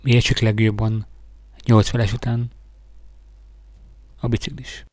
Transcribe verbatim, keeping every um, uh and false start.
mi értsük legjobban nyolc feles után a biciklis.